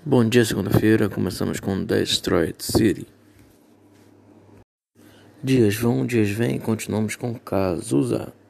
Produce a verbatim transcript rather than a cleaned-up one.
Bom dia, segunda-feira. Começamos com Destroyed City. Dias vão, dias vêm, continuamos com Cazuza.